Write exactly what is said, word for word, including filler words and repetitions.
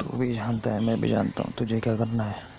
तू भी जानता है, मैं भी जानता हूँ, तुझे क्या करना है।